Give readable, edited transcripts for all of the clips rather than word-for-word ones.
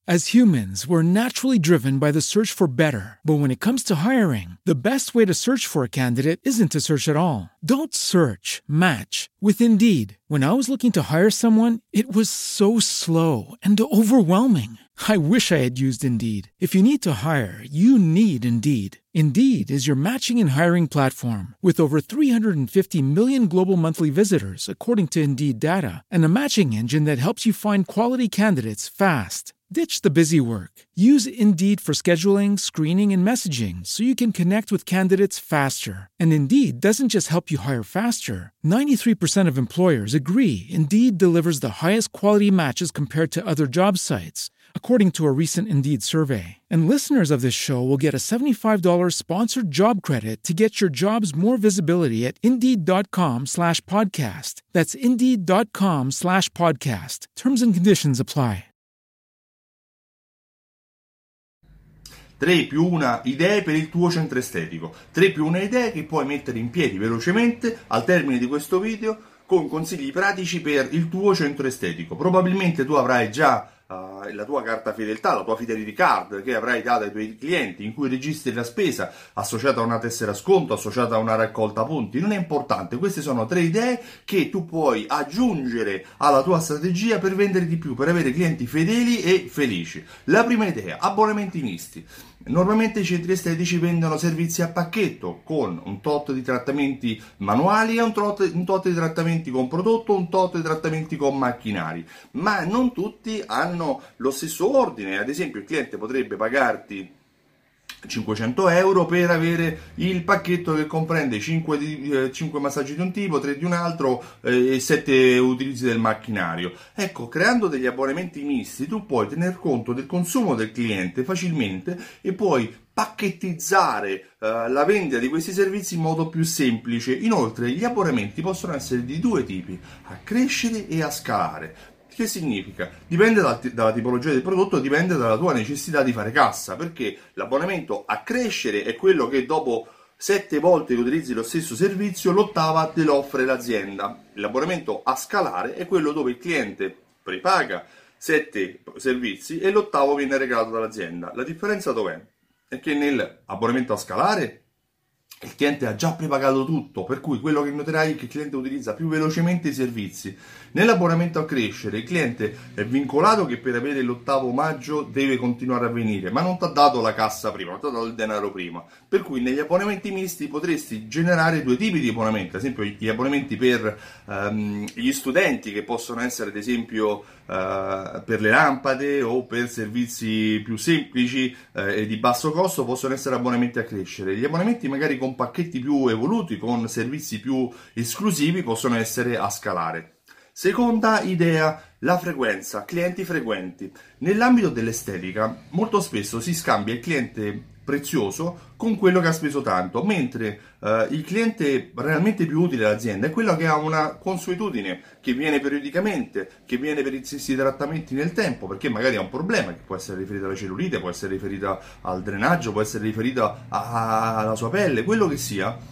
As humans, we're naturally driven by the search for better. But when it comes to hiring, the best way to search for a candidate isn't to search at all. Don't search, match with Indeed. When I was looking to hire someone, it was so slow and overwhelming. I wish I had used Indeed. If you need to hire, you need Indeed. Indeed is your matching and hiring platform with over 350 million global monthly visitors, according to Indeed data, and a matching engine that helps you find quality candidates fast. Ditch the busy work. Use Indeed for scheduling, screening, and messaging so you can connect with candidates faster. And Indeed doesn't just help you hire faster. 93% of employers agree Indeed delivers the highest quality matches compared to other job sites, according to a recent Indeed survey. And listeners of this show will get a $75 sponsored job credit to get your jobs more visibility at Indeed.com/podcast. That's Indeed.com/podcast. Terms and conditions apply. 3 più 1 idee per il tuo centro estetico. 3 più 1 idee che puoi mettere in piedi velocemente al termine di questo video con consigli pratici per il tuo centro estetico. Probabilmente tu avrai già la tua carta fedeltà, la tua fidelity card che avrai dato ai tuoi clienti, in cui registri la spesa associata a una tessera sconto, associata a una raccolta punti. Non è importante, queste sono 3 idee che tu puoi aggiungere alla tua strategia per vendere di più, per avere clienti fedeli e felici. La prima idea: abbonamenti misti. Normalmente i centri estetici vendono servizi a pacchetto con un tot di trattamenti manuali e un tot di trattamenti con prodotto, un tot di trattamenti con macchinari, ma non tutti hanno lo stesso ordine. Ad esempio, il cliente potrebbe pagarti 500 euro per avere il pacchetto che comprende 5 massaggi di un tipo, 3 di un altro e 7 utilizzi del macchinario. Ecco, creando degli abbonamenti misti tu puoi tener conto del consumo del cliente facilmente e puoi pacchettizzare la vendita di questi servizi in modo più semplice. Inoltre gli abbonamenti possono essere di 2 tipi: a crescere e a scalare. Che significa? Dipende dalla tipologia del prodotto, dipende dalla tua necessità di fare cassa, perché l'abbonamento a crescere è quello che dopo 7 volte che utilizzi lo stesso servizio, l'8ª te lo offre l'azienda. L'abbonamento a scalare è quello dove il cliente prepaga 7 servizi e l'8º viene regalato dall'azienda. La differenza dov'è? È che nell'abbonamento a scalare il cliente ha già prepagato tutto, per cui quello che noterai è che il cliente utilizza più velocemente i servizi. Nell'abbonamento a crescere il cliente è vincolato che per avere l'8º omaggio deve continuare a venire, ma non ti ha dato la cassa prima, non ti ha dato il denaro prima. Per cui negli abbonamenti misti potresti generare 2 tipi di abbonamenti, ad esempio gli abbonamenti per gli studenti, che possono essere ad esempio per le lampade o per servizi più semplici e di basso costo, possono essere abbonamenti a crescere. Gli abbonamenti magari con pacchetti più evoluti, con servizi più esclusivi, possono essere a scalare. Seconda idea: la frequenza, clienti frequenti. Nell'ambito dell'estetica molto spesso si scambia il cliente prezioso con quello che ha speso tanto, mentre il cliente realmente più utile all'azienda è quello che ha una consuetudine, che viene periodicamente, che viene per i stessi trattamenti nel tempo, perché magari ha un problema che può essere riferito alla cellulite, può essere riferito al drenaggio, può essere riferito alla sua pelle, quello che sia.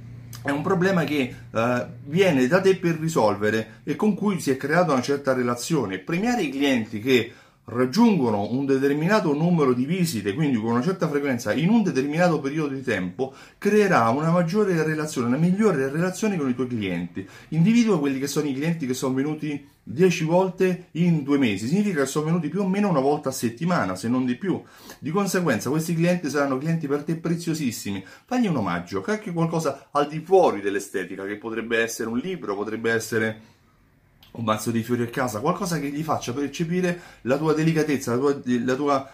È un problema che viene da te per risolvere e con cui si è creata una certa relazione. Premiare i clienti che raggiungono un determinato numero di visite, quindi con una certa frequenza in un determinato periodo di tempo, creerà una maggiore relazione, una migliore relazione con i tuoi clienti. Individua quelli che sono i clienti che sono venuti 10 volte in 2 mesi, significa che sono venuti più o meno una volta a settimana, se non di più. Di conseguenza questi clienti saranno clienti per te preziosissimi. Fagli un omaggio, anche qualcosa al di fuori dell'estetica, che potrebbe essere un libro, potrebbe essere un mazzo di fiori a casa, qualcosa che gli faccia percepire la tua delicatezza, la tua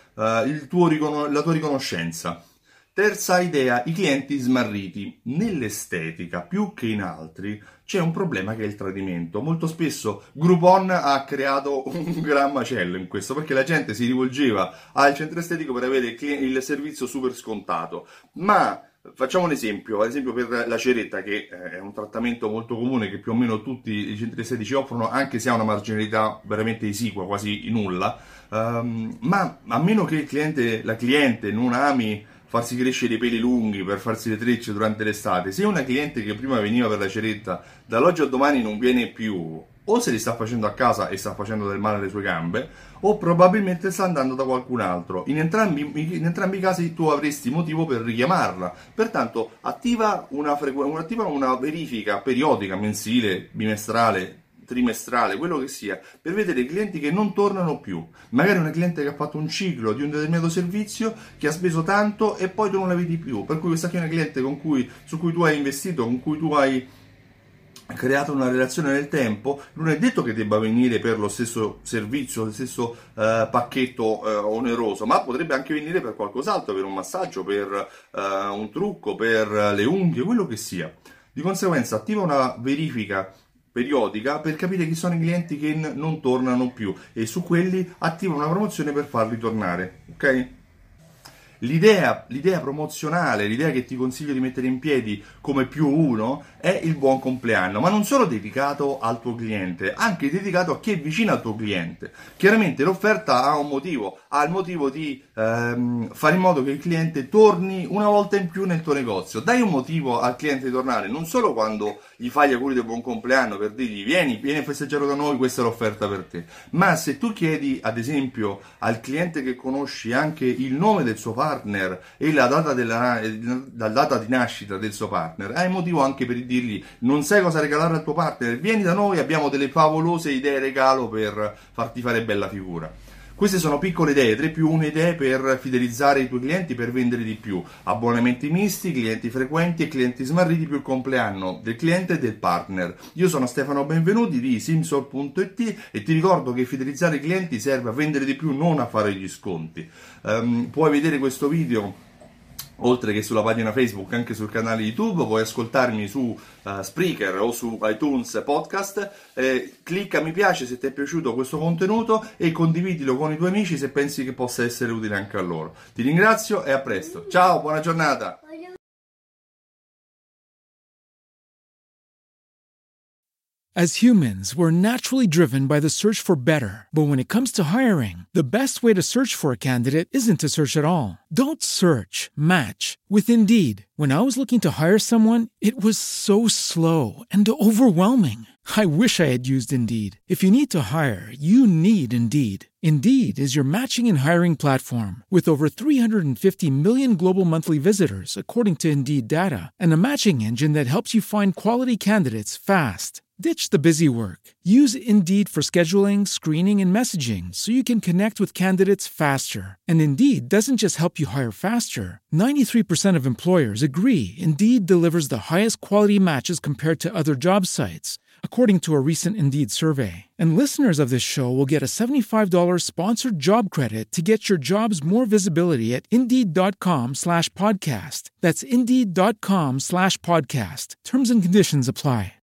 riconoscenza. Terza idea: i clienti smarriti. Nell'estetica, più che in altri, c'è un problema che è il tradimento. Molto spesso Groupon ha creato un gran macello in questo, perché la gente si rivolgeva al centro estetico per avere il servizio super scontato. Ma facciamo un esempio, ad esempio per la ceretta, che è un trattamento molto comune che più o meno tutti i centri estetici offrono, anche se ha una marginalità veramente esigua, quasi nulla, ma a meno che la cliente non ami farsi crescere i peli lunghi per farsi le trecce durante l'estate, se una cliente che prima veniva per la ceretta dall'oggi al domani non viene più, o se li sta facendo a casa e sta facendo del male alle sue gambe, o probabilmente sta andando da qualcun altro. In entrambi i casi tu avresti motivo per richiamarla. Pertanto attiva una verifica periodica, mensile, bimestrale, trimestrale, quello che sia, per vedere i clienti che non tornano più. Magari una cliente che ha fatto un ciclo di un determinato servizio, che ha speso tanto e poi tu non la vedi più. Per cui questa qui è una cliente su cui tu hai investito, con cui tu hai creato una relazione nel tempo. Non è detto che debba venire per lo stesso servizio, lo stesso pacchetto oneroso, ma potrebbe anche venire per qualcos'altro, per un massaggio, per un trucco, per le unghie, quello che sia. Di conseguenza attiva una verifica periodica per capire chi sono i clienti che non tornano più e su quelli attiva una promozione per farli tornare, ok? L'idea promozionale, l'idea che ti consiglio di mettere in piedi come +1 è il buon compleanno, ma non solo dedicato al tuo cliente, anche dedicato a chi è vicino al tuo cliente. Chiaramente l'offerta ha un motivo, ha il motivo di fare in modo che il cliente torni una volta in più nel tuo negozio. Dai un motivo al cliente di tornare, non solo quando gli fai gli auguri del buon compleanno per dirgli vieni a festeggiare da noi, questa è l'offerta per te, ma se tu chiedi ad esempio al cliente che conosci anche il nome del suo partner e la data di nascita del suo partner, hai motivo anche per dirgli non sai cosa regalare al tuo partner, vieni da noi, abbiamo delle favolose idee regalo per farti fare bella figura. Queste sono piccole idee, 3+1 idee per fidelizzare i tuoi clienti, per vendere di più. Abbonamenti misti, clienti frequenti e clienti smarriti più il compleanno del cliente e del partner. Io sono Stefano Benvenuti di Simsol.it e ti ricordo che fidelizzare i clienti serve a vendere di più, non a fare gli sconti. Puoi vedere questo video oltre che sulla pagina Facebook, anche sul canale YouTube, puoi ascoltarmi su Spreaker o su iTunes Podcast, clicca mi piace se ti è piaciuto questo contenuto e condividilo con i tuoi amici se pensi che possa essere utile anche a loro. Ti ringrazio e a presto. Ciao, buona giornata! As humans, we're naturally driven by the search for better. But when it comes to hiring, the best way to search for a candidate isn't to search at all. Don't search, match with Indeed. When I was looking to hire someone, it was so slow and overwhelming. I wish I had used Indeed. If you need to hire, you need Indeed. Indeed is your matching and hiring platform with over 350 million global monthly visitors, according to Indeed data, and a matching engine that helps you find quality candidates fast. Ditch the busy work. Use Indeed for scheduling, screening, and messaging so you can connect with candidates faster. And Indeed doesn't just help you hire faster. 93% of employers agree Indeed delivers the highest quality matches compared to other job sites, according to a recent Indeed survey. And listeners of this show will get a $75 sponsored job credit to get your jobs more visibility at Indeed.com/podcast. That's Indeed.com/podcast. Terms and conditions apply.